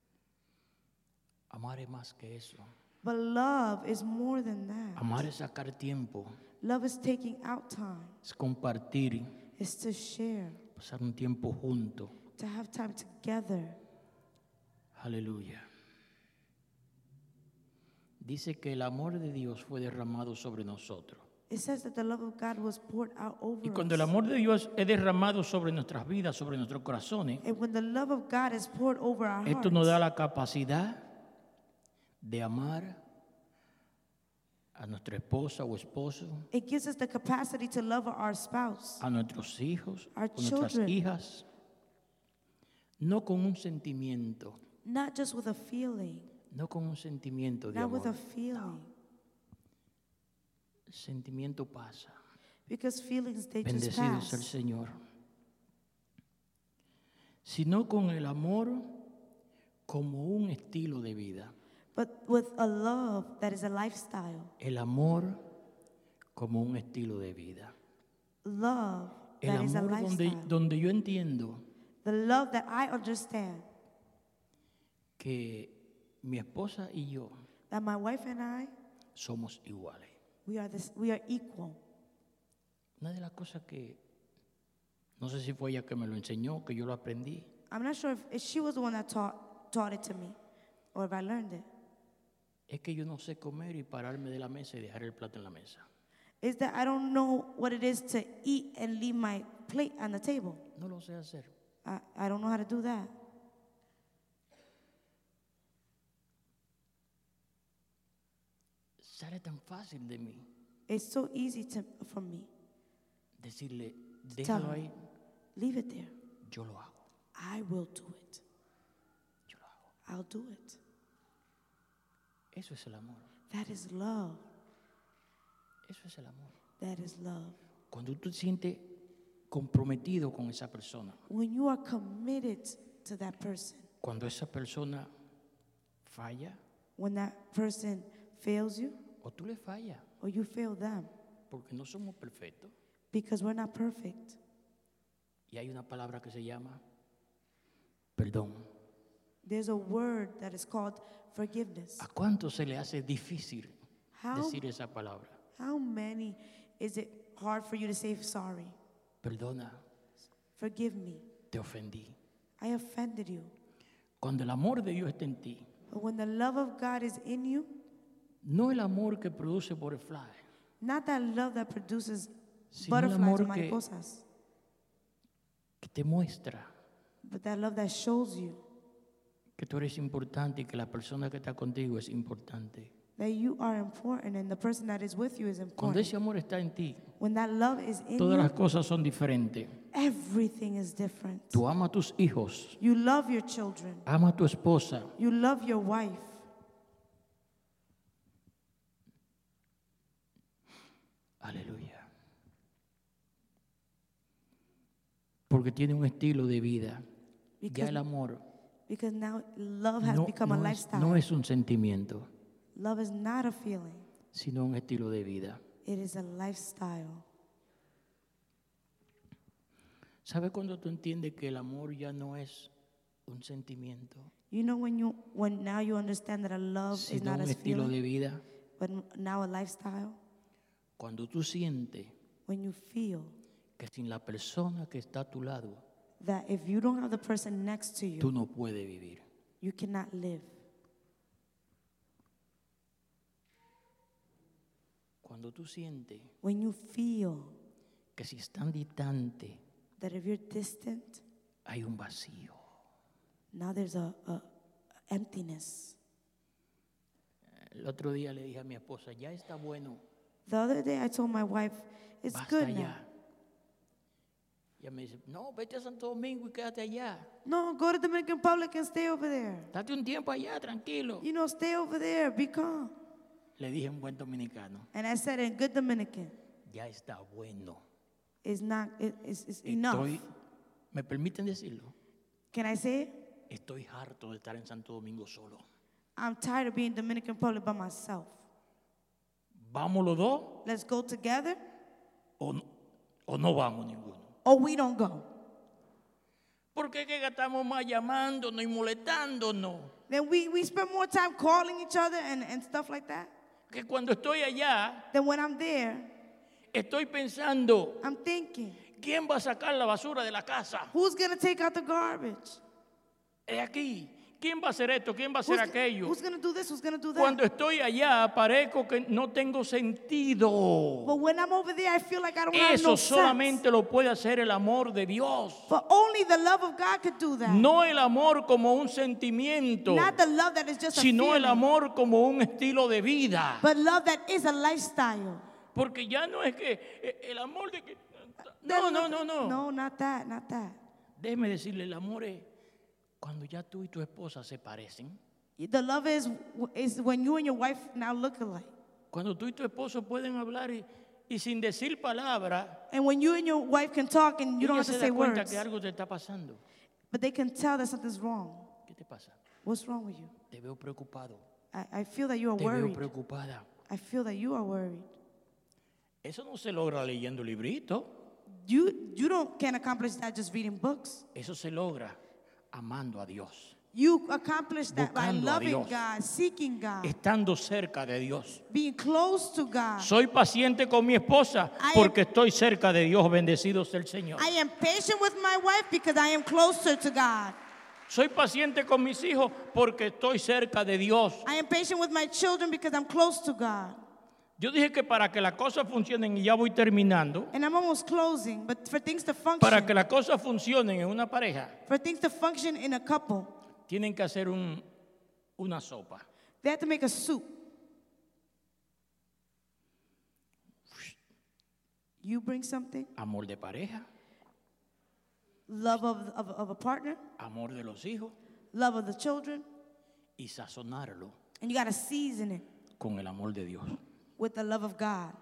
Amar es más que eso. But love is more than that. Amar es sacar tiempo, Love is taking out time. es compartir, It's to share, pasar un tiempo junto. to have time together. Aleluya. Dice que el amor de Dios fue derramado sobre nosotros. It says that the love of God was poured out over Y cuando us. el amor de Dios es derramado sobre nuestras vidas, sobre nuestros corazones, And when the love of God is poured over our esto hearts, nos da la capacidad de amar a nuestra esposa o esposo, it gives us the capacity to love our spouse, a nuestros hijos, Our a nuestras children. hijas, no con un sentimiento, not just with a feeling, no con un sentimiento de not with a amor. feeling, El sentimiento pasa. because feelings, they just Bendecido es el pass. Señor. Sino con el amor como un estilo de vida. But with a love that is a lifestyle, El amor como un estilo de vida. love El that is a amor donde, lifestyle. donde yo entiendo The love that I understand, que mi esposa y yo that my wife and I, somos iguales. we are this, we are equal. Una de las cosas que, no sé si fue ella que me lo enseñó, que yo lo aprendí, I'm not sure if, if she was the one that taught taught it to me, or if I learned it. es que yo no sé comer y pararme de la mesa y dejar el plato en la mesa. Is that I don't know what it is to eat and leave my plate on the table. No lo sé hacer. I, I don't know how to do that. Sale tan fácil de mí It's so easy to, for me. decirle, Tell déjalo her, ahí, leave it there. yo lo hago, I will do it. yo lo hago. I'll do it. Eso es el amor, That is love. eso es el amor. That is love. Cuando tú te sientes comprometido con esa persona, When you are committed to that person, cuando esa persona falla when that person fails you o tú le fallas, or you fail them, porque no somos perfectos, because we're not perfect. y hay una palabra que se llama perdón. There's a word that is called forgiveness. ¿A cuánto se le hace difícil How, decir esa palabra? how many is it hard for you to say sorry? Perdona, Forgive me. te ofendí. I offended you. Cuando el amor de Dios está en ti, But when the love of God is in you, no el amor que produce butterfly, not that love that produces sino el butterflies amor or que, mariposas, que te muestra but that love that shows you que tú eres importante y que la persona que está contigo es importante. that you are important and the person that is with you is Cuando important. ese amor está en ti, When that love is in todas las you, cosas son diferentes. everything is different. Tú amas a tus hijos, You love your children. amas a tu esposa, You love your wife. aleluya. Porque tiene un estilo de vida. Ya Because, el amor because now love has no, become a no es, lifestyle. no es un sentimiento, Love is not a feeling. sino un estilo de vida. It is a lifestyle. ¿Sabes cuando tú entiendes que el amor ya no es un sentimiento, You know when you when now you understand that a love is sino not un a estilo feeling, de vida? but now a lifestyle? Cuando tú sientes When you feel que sin la persona que está a tu lado, that if you don't have the person next to you, tú no puedes vivir. you cannot live. Cuando tú sientes When you feel que si están distantes that if you're distant, hay un vacío. now there's a, a, a emptiness. El otro día le dije a mi esposa, ya está bueno, The other day I told my wife, it's basta good now. ya. Ella me dice, no, vete a Santo Domingo y quédate allá. No, go to Dominican Republic and stay over there. Date un tiempo allá, tranquilo. You know, stay over there, be calm. Le dije en buen dominicano, And I said in good Dominican, ya está bueno. it's not, it, it's, it's enough. Estoy, ¿me permiten decirlo? Can I say it? Estoy harto de estar en Santo Domingo solo. I'm tired of being Dominican Republic by myself. ¿Vamos los dos Let's go together o no, o no vamos ninguno? or we don't go. ¿Por qué que gastamos más llamándonos y molestándonos? Then we, we spend more time calling each other and, and stuff like that. Que cuando estoy allá, Then when I'm there, estoy pensando, I'm thinking, ¿quién va a sacar la basura de la casa? who's going to take out the garbage? Es aquí. ¿Quién va a hacer esto? ¿Quién va a hacer Who's, aquello? who's going to do this? Who's going to do that? Cuando estoy allá, parezco que no tengo sentido. But when I'm over there, I feel like I don't have Eso no sense. solamente lo puede hacer el amor de Dios. But only the love of God could do that. No el amor como un sentimiento, Not the love that is just a sino feeling, el amor como un estilo de vida. but love that is a lifestyle. Porque ya no es que eh, el amor de que... The No, no, love- no, no. No, not that, not that. Déjeme decirle, el amor es cuando ya tú y tu esposa se parecen. The love is is when you and your wife now look alike. Cuando tú y tu esposo pueden hablar y, y sin decir palabra, And when you and your wife can talk and you don't ella have to se say da cuenta words, que algo te está pasando. but they can tell that something's wrong. ¿Qué te pasa? What's wrong with you? Te veo preocupado. I, I feel that you are Te veo worried. preocupada. I feel that you are worried. Eso no se logra leyendo libritos. You you don't can't accomplish that just reading books. Eso se logra amando a Dios, You accomplish that by Buscando a loving Dios. God, seeking God, estando cerca de Dios. being close to God. Soy paciente con mi esposa I am- porque estoy cerca de Dios, bendecido sea el Señor. I am patient with my wife because I am closer to God. Soy paciente con mis hijos porque estoy cerca de Dios. I am patient with my children because I'm close to God. Yo dije que para que las cosas funcionen, y ya voy terminando, And I'm almost closing, but for things to function, para que las cosas funcionen en una pareja, for things to function in a couple, tienen que hacer un, una sopa. they have to make a soup. You bring something, Amor de pareja, love of, of, of a partner, amor de los hijos, love of the children, y sazonarlo and you got to season it con el amor de Dios. with the love of God.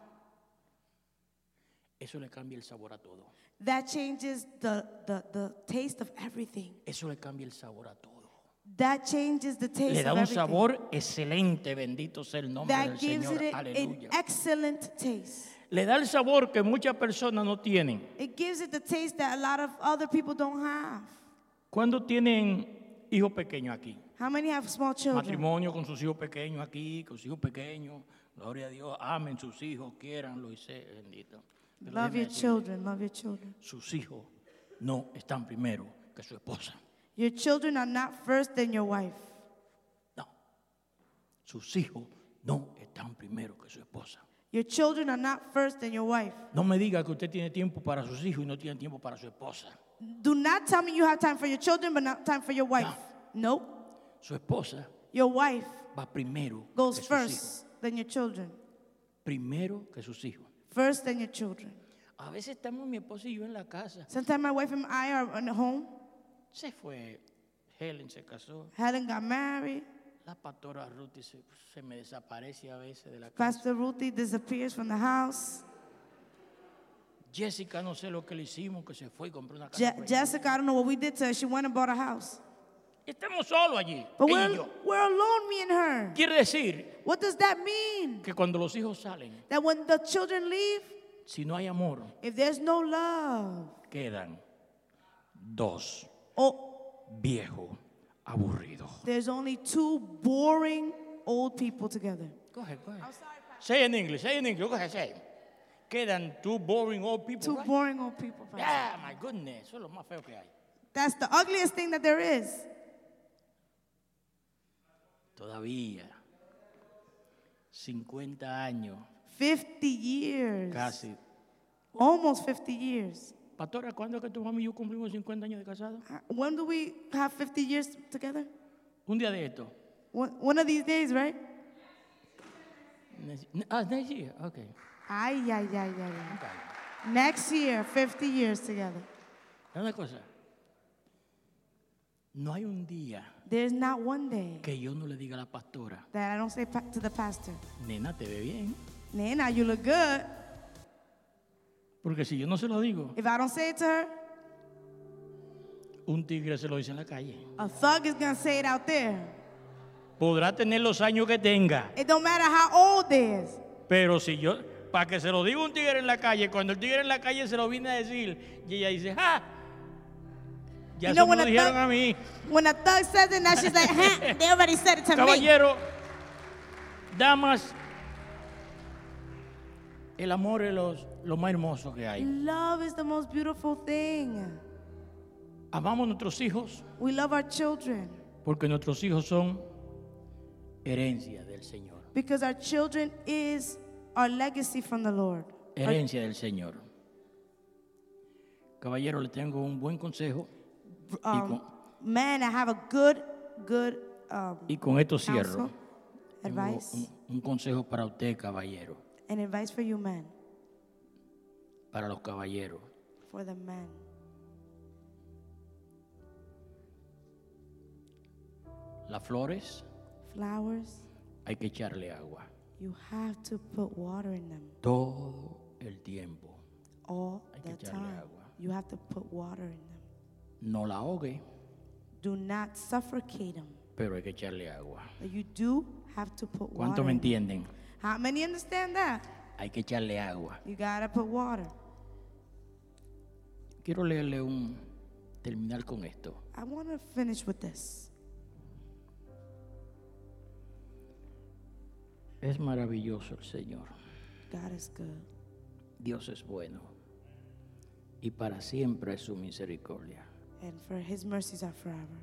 Eso le cambia el sabor a todo. That changes the, the, the taste of everything. Eso le cambia el sabor a todo. That changes the taste Le da of un everything. sabor excelente, bendito sea el nombre del That gives Señor. it an Aleluya. excellent taste. Le da el sabor que muchas personas no tienen. It gives it the taste that a lot of other people don't have. ¿Cuándo tienen hijos pequeños aquí? How many have small children? Matrimonio con sus hijos pequeños aquí, con sus hijos pequeños. Gloria a Dios, amen sus hijos, quieranlo y sé bendito. Pero Love déjeme your decirle, children, love your children. sus hijos no están primero que su esposa. Your children are not first than your wife. No. Sus hijos no están primero que su esposa. Your children are not first than your wife. No me diga que usted tiene tiempo para sus hijos y no tiene tiempo para su esposa. Do not tell me you have time for your children but not time for your wife. Nope. Su esposa Your wife va primero goes que sus hijos. first than your children. Primero que sus hijos. First than your children. A veces estamos mi esposa y yo en la casa. Sometimes my wife and I are at home. Se fue, Helen se casó. Helen got married. La pastora Ruthie se, se me desaparece a veces de la casa. Pastor Ruthie disappears from the house. Jessica, no sé lo que le hicimos, que se fue y compró una casa. Je- por ahí. Jessica, I don't know what we did to her. She went and bought a house. Estamos solos allí, But ella y we're, yo. we're alone, me and her. Quiere decir What does that mean? que cuando los hijos salen, That when the children leave, si no hay amor, if there's no love, quedan dos oh, viejos aburridos. there's only two boring old people together. Go ahead, go ahead. Say in English, say in English, go ahead, say. Quedan two boring old people, Two right? boring old people. Pastor. Yeah, my goodness, eso es lo más feo que hay. That's the ugliest thing that there is. Todavía, cincuenta años, fifty years. casi. Almost fifty years. Pastora, ¿cuándo es que tu mamá y yo cumplimos cincuenta años de casado? Uh, When do we have fifty years together? Un día de esto. One, one of these days, right? Next- Ah, next year, okay. Ay, ay, ay, ay, ay. Okay. Next year, fifty years together. Una cosa. No hay un día There's not one day que yo no le diga a la pastora, that I don't say pa- to the pastor, nena, te ve bien. Nana, you look good. Porque si yo no se lo digo, If I don't say it to her, un tigre se lo dice en la calle. a thug is going to say it out there. Podrá tener los años que tenga, It don't matter how old they is. pero si yo, para que se lo diga un tigre en la calle, cuando el tigre en la calle se lo viene a decir, y ella dice, ¡ah! Ya You se know me when lo a dijeron thug- a mí. When a thug says it, now she's like, huh, they already said it to me. Caballero, damas, el amor es los- lo más hermoso que hay. Love is the most beautiful thing. Amamos a nuestros hijos We love our children Porque nuestros hijos son herencia del Señor. Because our children is our legacy from the Lord. Our- Herencia del Señor. Caballero, le tengo un buen consejo. y, um, con, man, I have a good, good um, y con esto cierro. counsel, Tengo advice, un, un consejo para usted, caballero. and advice for you, man, Para los caballeros. for the men. Las flores Flowers, hay que echarle agua. you have to put water in them Todo el tiempo. all Hay que the echarle time. agua. You have to put water in them. No la ahogue, Do not suffocate them. pero hay que echarle agua. But you do have to put ¿Cuánto water me in them. entienden? How many understand that? Hay que echarle agua. You gotta put water. Quiero leerle un, terminar con esto. I want to finish with this. Es maravilloso el Señor. God is good, Dios es bueno. Y para siempre es su misericordia. and for His mercies are forever.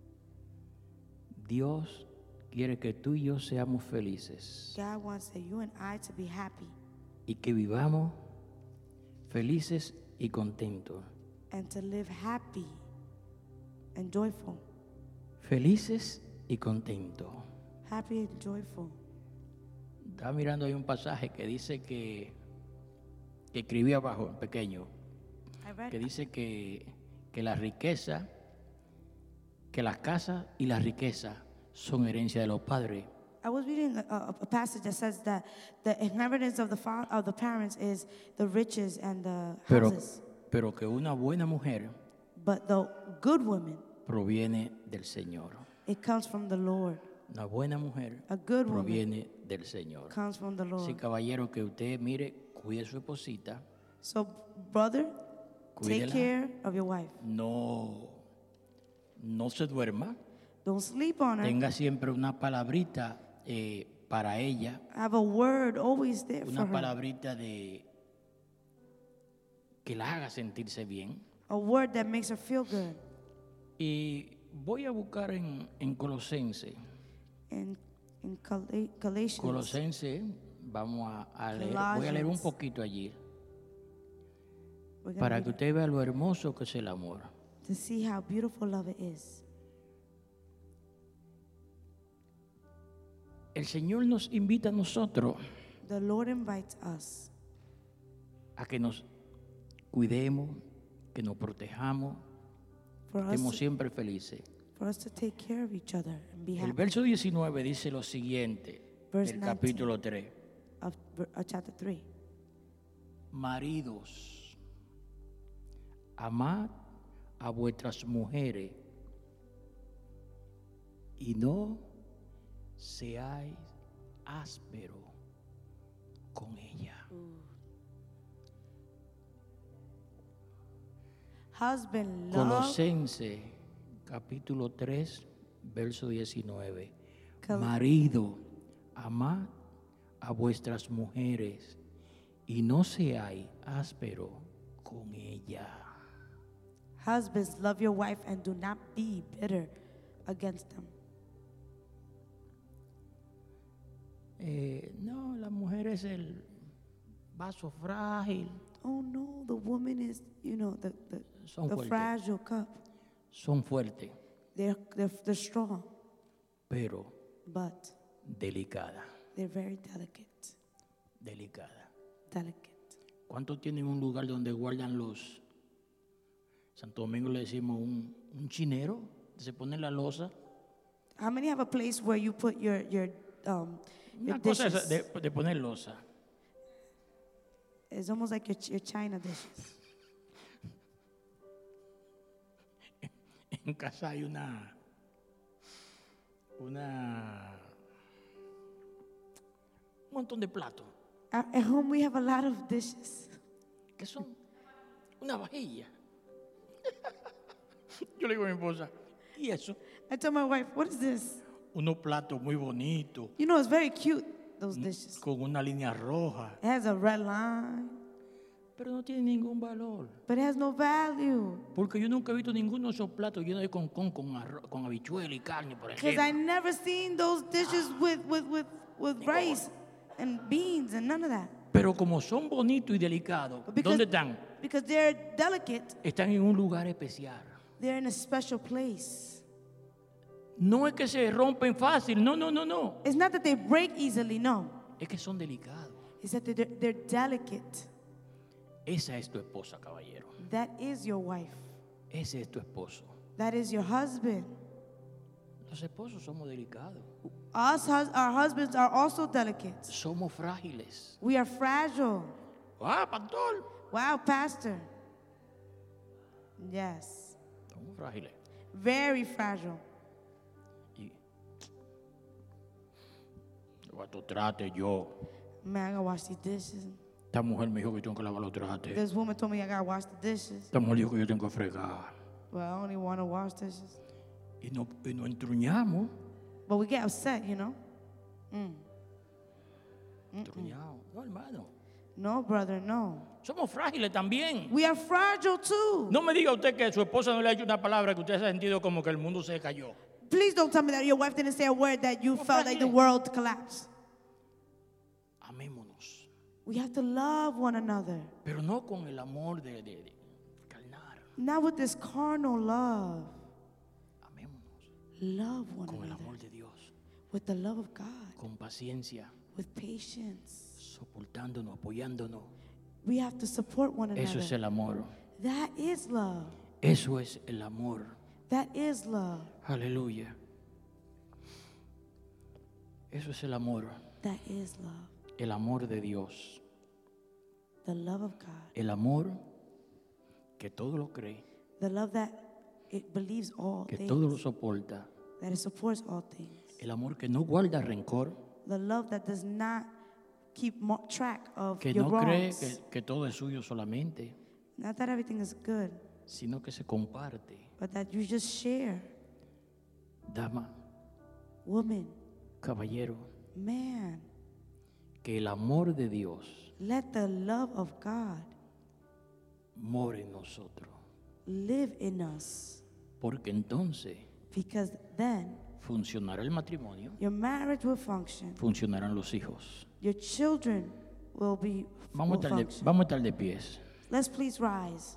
Dios quiere que tú y yo seamos felices God wants that you and I to be happy y que vivamos felices y contentos. and to live happy and joyful. Felices y contentos. Happy and joyful. Estaba mirando ahí un pasaje que dice que, que escribí abajo, en pequeño, I read, que dice que, que la riqueza, que las casas y la riqueza son herencia de los padres. I was reading a, a, a passage that says that the inheritance of the fa- of the parents is the riches and the Pero, houses, pero que una buena mujer but the good woman, proviene del Señor. it comes from the Lord. Una buena mujer A good woman proviene del Señor. comes from the Sí, Lord. caballero, que usted mire, cuide a su esposita, So, brother, take cuídela, care of your wife. no, no se duerma, Don't sleep on her. tenga siempre una palabrita eh, para ella, Have a word always there for una her. palabrita de que la haga sentirse bien. A word that makes her feel good. Y voy a buscar en, en Colosense. In, in Gal- Galatians, Colosense, vamos a, a leer, voy a leer un Colossians. poquito allí, we're gonna para read que it, usted vea lo hermoso que es el amor. to see how beautiful love it is. El Señor nos invita a nosotros The Lord invites us a que nos cuidemos, que nos protejamos, for us, estemos to, siempre felices. for us to take care of each other and be El happy. verso diecinueve dice lo siguiente, Verse del nineteen. capítulo tres. Of, ver- of chapter three. Maridos, amad a vuestras mujeres y no seáis áspero con ella. Husband, love. Colosense capítulo tres, verso diecinueve. Col- Marido, amad a vuestras mujeres y no seáis áspero con ella. Husbands, love your wife and do not be bitter against them. Eh, no, la mujer es el vaso frágil, Oh no, the woman is, you know, the, the, Son the fuertes. fragile cup. son fuertes, They're, they're, they're strong, pero but delicada, they're very delicate. delicada. Delicate. ¿Cuántos tienen un lugar donde guardan los? Santo Domingo le decimos un, un chinero, se pone la losa. How many have a place where you put your, your, um, your Una cosa dishes? es de, de poner losa. It's almost like your, ch- your china dishes. En casa hay una, una, un montón de platos At, at home we have a lot of dishes. que son una vajilla. Yo le digo a mi esposa, ¿y eso? I tell my wife, what is this? Unos platos muy bonitos, You know, it's very cute, those dishes. con una línea roja, It has a red line. Pero no tiene ningún valor. but it has no value. Porque yo nunca he visto ninguno de esos platos llenos de concón con, arroz, con habichuela y carne por Because I encima. never seen those dishes with, with, with, with rice and beans and none of that. Pero como son bonitos y delicados, Because, ¿dónde están? because they're delicate, Están en un lugar especial. they're in a special place. No es que se rompen fácil, no, no, no, no. It's not that they break easily, no. Es que son delicados. It's that they're, they're delicate. Esa es tu esposa, caballero. That is your wife. Ese es tu esposo. That is your husband. Los esposos somos delicados. Us, hus- our husbands are also delicate. Somos frágiles. We are fragile. Ah, pastor. Wow, Pastor. Yes. Somos frágiles. Very fragile. Y cuando trate yo, Man, I gotta wash these dishes. esta mujer me dijo que tengo que lavar los trastes. This woman told me I gotta wash the dishes. Esta mujer dijo que yo tengo que fregar. Well, I only want to wash dishes. Y no, y no entruñamos. But we get upset, you know? Mm. Entruñamos. No, hermano. No, brother, no. Somos frágiles también. We are fragile too. No me diga usted que su esposa no le ha hecho una palabra que usted ha sentido como que el mundo se cayó. Please don't tell me that your wife didn't say a word that you felt like the world collapsed. Amémonos. We have to love one another. Pero no con el amor de, de, de carnal. Not with this carnal love. Amémonos Love one con el another. amor de Dios. With the love of God. Con paciencia. With patience. Soportándonos, apoyándonos. We have to support one another. Eso es el amor. That is love. Eso es el amor. That is love. Aleluya. Eso es el amor. That is love. El amor de Dios. The love of God. El amor que todo lo cree, The love that it believes all que things. todo lo soporta. That it supports all things. El amor que no guarda rencor, The love that does not keep mo- track of que your no cree wrongs. que, que todo es suyo solamente, Not that everything is good, sino que se comparte. but that you just share. Dama, Woman, caballero, man, que el amor de Dios let the love of God more en nosotros. live in us. Porque entonces Because then funcionará el matrimonio, your marriage will function. funcionarán los hijos. Your children will be Vamos a will estar de, function. vamos a estar de pies. Let's please rise.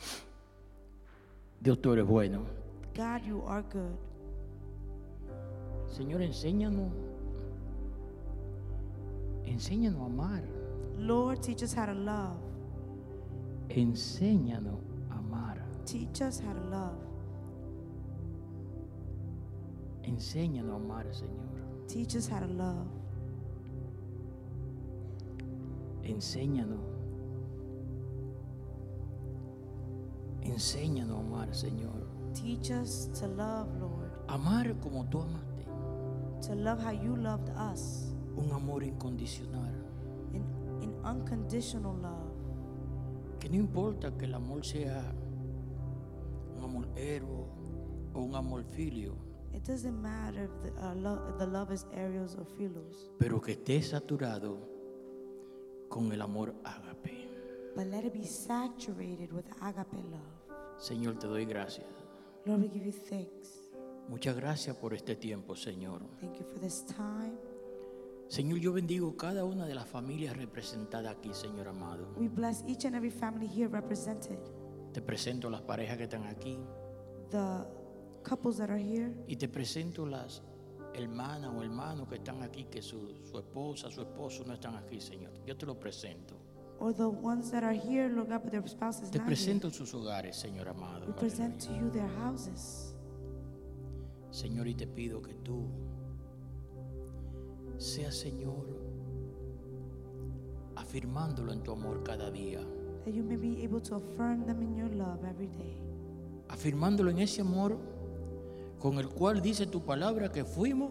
Dios, tú eres bueno. God, you are good. Señor, enséñanos. Enséñanos a amar. Lord, teach us how to love. Enséñanos a amar. Teach us how to love. Enséñanos a amar, Señor. Teach us how to love. Enséñanos. Enséñanos a amar, Señor. Teach us to love, Lord. Amar como tú amaste. To love how you loved us. Un amor incondicional. In, in unconditional love. Que no importa que el amor sea un amor héroe o un amor filio, It doesn't matter if the, uh, lo- if the love is aerials or philos. pero que esté saturado con el amor ágape. But let it be saturated with agape love. Señor, te doy gracias. Lord, we give you thanks. Muchas gracias por este tiempo, Señor. Thank you for this time. Señor, yo bendigo cada una de las familias representadas aquí, Señor amado. We bless each and every family here represented. Te presento las parejas que están aquí The couples that are here. y te presento las hermanas o hermanos que están aquí, que su, su esposa, su esposo no están aquí, Señor. Yo te lo presento. Or the ones that are here, Lord God, but their spouses Te not presento here. sus hogares, Señor amado. We present Aleluya. to you their houses. Señor, y te pido que tú seas, Señor, afirmándolo en tu amor cada día, That you may be able to affirm them in your love every day. afirmándolo en ese amor con el cual dice tu palabra que fuimos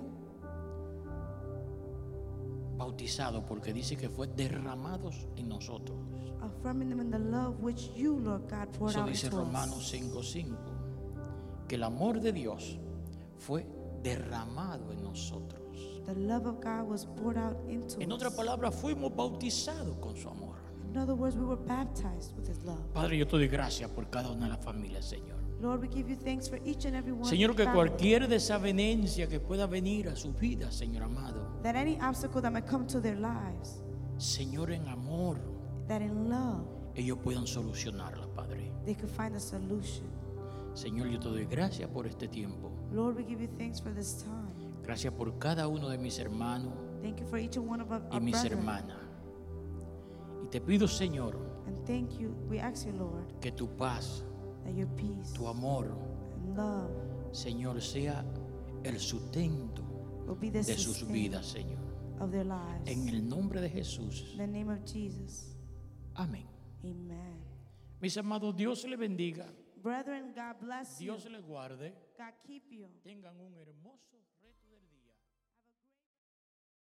bautizados, porque dice que fue derramados en nosotros. Affirming them in the love which you, Lord God, poured Eso out dice into Romanos us. cinco cinco, que el amor de Dios fue derramado en nosotros. The love of God was poured out into En us. otras palabras, fuimos bautizados con su amor. In In other words, we were baptized with His love. Padre, yo te doy gracias por cada una de las familias, Señor. Lord, we give you thanks for each and every one. Señor, que family. cualquier desavenencia que pueda venir a sus vidas, Señor amado, That any obstacle that might come to their lives, Señor, en amor, that in love ellos puedan solucionarla, Padre. they could find a solution. Señor, yo te doy gracias por este tiempo. Lord, we give you thanks for this time. Gracias por cada uno de mis hermanos Thank you for each and one of our, y our mis brethren. hermanas. Y te pido, Señor, And thank you, we ask you, Lord, que tu paz, that your peace tu amor, and love Señor, sea el sustento will be the de sus sustain vidas, Señor. of their lives. En el nombre de Jesús. In the name of Jesus, Amén. amen. Mis amados, Dios les bendiga. Brethren, God bless you. Dios les guarde. God keep you. Tengan un hermoso